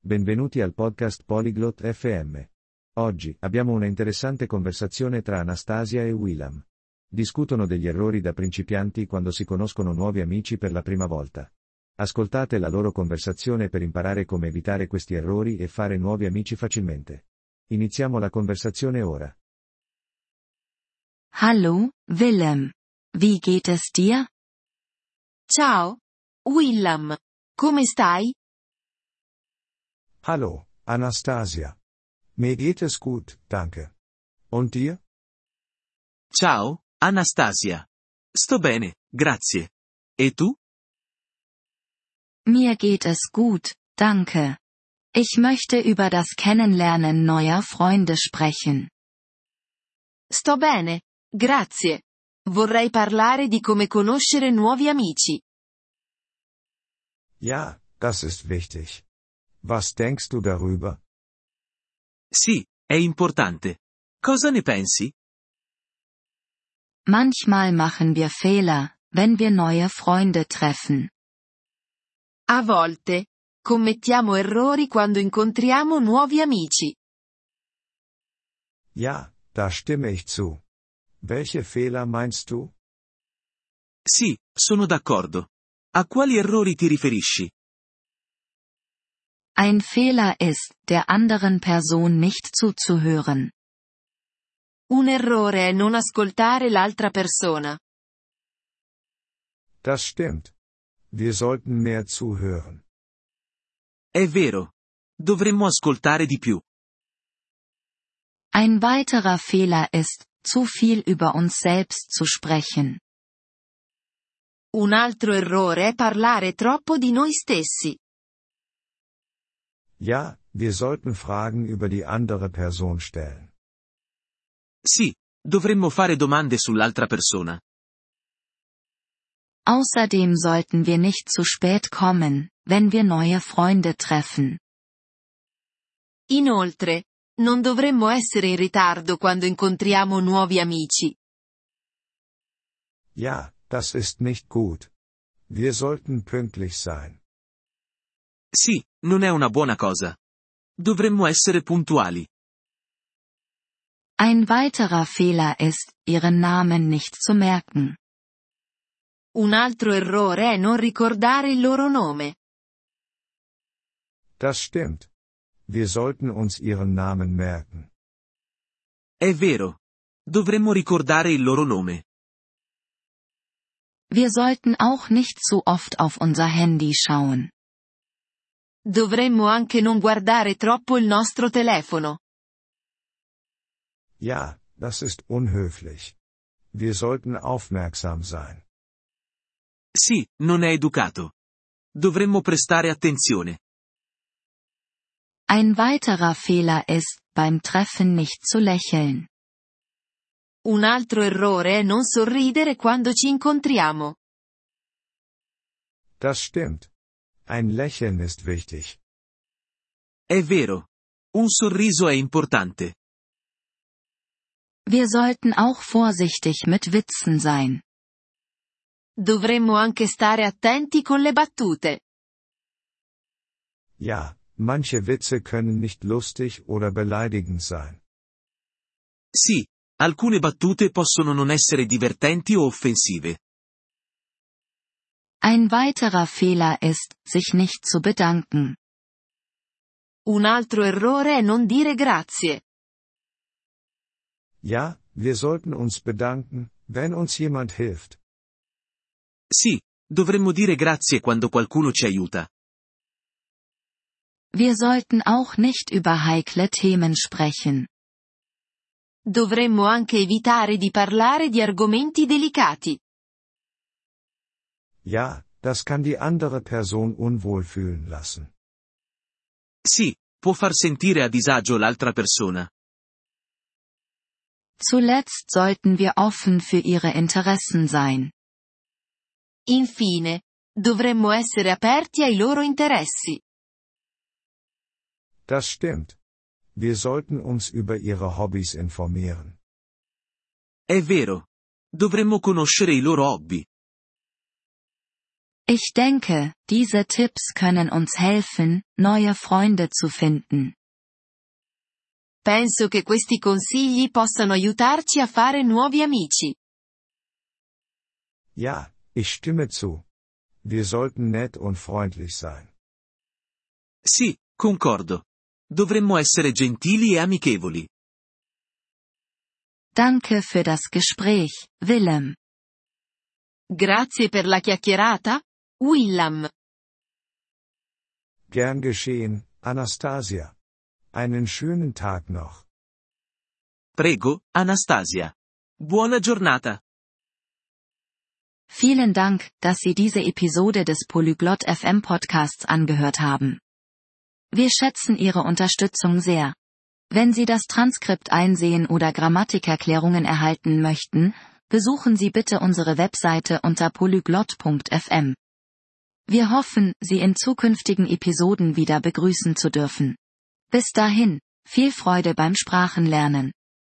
Benvenuti al podcast Polyglot FM. Oggi abbiamo una interessante conversazione tra Anastasia e Willam. Discutono degli errori da principianti quando si conoscono nuovi amici per la prima volta. Ascoltate la loro conversazione per imparare come evitare questi errori e fare nuovi amici facilmente. Iniziamo la conversazione ora. Hallo, Willem. Wie geht es dir? Ciao, Willam. Come stai? Hallo, Anastasia. Mir geht es gut, danke. Und dir? Ciao, Anastasia. Sto bene, grazie. E tu? Mir geht es gut, danke. Ich möchte über das Kennenlernen neuer Freunde sprechen. Sto bene, grazie. Vorrei parlare di come conoscere nuovi amici. Ja, das ist wichtig. Was denkst du darüber? Sì, è importante. Cosa ne pensi? Manchmal machen wir Fehler, wenn wir neue Freunde treffen. A volte, commettiamo errori quando incontriamo nuovi amici. Ja, da stimme ich zu. Welche Fehler meinst du? Sì, sono d'accordo. A quali errori ti riferisci? Ein Fehler ist, der anderen Person nicht zuzuhören. Un errore è non ascoltare l'altra persona. Das stimmt. Wir sollten mehr zuhören. È vero. Dovremmo ascoltare di più. Ein weiterer Fehler ist, zu viel über uns selbst zu sprechen. Un altro errore è parlare troppo di noi stessi. Ja, wir sollten Fragen über die andere Person stellen. Sì, dovremmo fare domande sull'altra persona. Außerdem sollten wir nicht zu spät kommen, wenn wir neue Freunde treffen. Inoltre, non dovremmo essere in ritardo quando incontriamo nuovi amici. Ja, das ist nicht gut. Wir sollten pünktlich sein. Sì, non è una buona cosa. Dovremmo essere puntuali. Ein weiterer Fehler ist, ihren Namen nicht zu merken. Un altro errore è non ricordare il loro nome. Das stimmt. Wir sollten uns ihren Namen merken. È vero. Dovremmo ricordare il loro nome. Wir sollten auch nicht zu oft auf unser Handy schauen. Dovremmo anche non guardare troppo il nostro telefono. Ja, das ist unhöflich. Wir sollten aufmerksam sein. Sì, non è educato. Dovremmo prestare attenzione. Ein weiterer Fehler ist, beim Treffen nicht zu lächeln. Un altro errore è non sorridere quando ci incontriamo. Das stimmt. Ein Lächeln ist wichtig. È vero. Un sorriso è importante. Wir sollten auch vorsichtig mit Witzen sein. Dovremmo anche stare attenti con le battute. Ja, manche Witze können nicht lustig oder beleidigend sein. Sì, alcune battute possono non essere divertenti o offensive. Ein weiterer Fehler ist, sich nicht zu bedanken. Un altro errore è non dire grazie. Ja, wir sollten uns bedanken, wenn uns jemand hilft. Sì, dovremmo dire grazie quando qualcuno ci aiuta. Wir sollten auch nicht über heikle Themen sprechen. Dovremmo anche evitare di parlare di argomenti delicati. Ja, das kann die andere Person unwohl fühlen lassen. Sì, può far sentire a disagio l'altra persona. Zuletzt sollten wir offen für ihre Interessen sein. Infine, dovremmo essere aperti ai loro interessi. Das stimmt. Wir sollten uns über ihre Hobbys informieren. È vero. Dovremmo conoscere i loro hobby. Ich denke, diese Tipps können uns helfen, neue Freunde zu finden. Penso che questi consigli possano aiutarci a fare nuovi amici. Ja, ich stimme zu. Wir sollten nett und freundlich sein. Sì, concordo. Dovremmo essere gentili e amichevoli. Danke für das Gespräch, Willem. Grazie per la chiacchierata, Willam. Gern geschehen, Anastasia. Einen schönen Tag noch. Prego, Anastasia. Buona giornata. Vielen Dank, dass Sie diese Episode des Polyglot FM Podcasts angehört haben. Wir schätzen Ihre Unterstützung sehr. Wenn Sie das Transkript einsehen oder Grammatikerklärungen erhalten möchten, besuchen Sie bitte unsere Webseite unter polyglot.fm. Wir hoffen, Sie in zukünftigen Episoden wieder begrüßen zu dürfen. Bis dahin, viel Freude beim Sprachenlernen.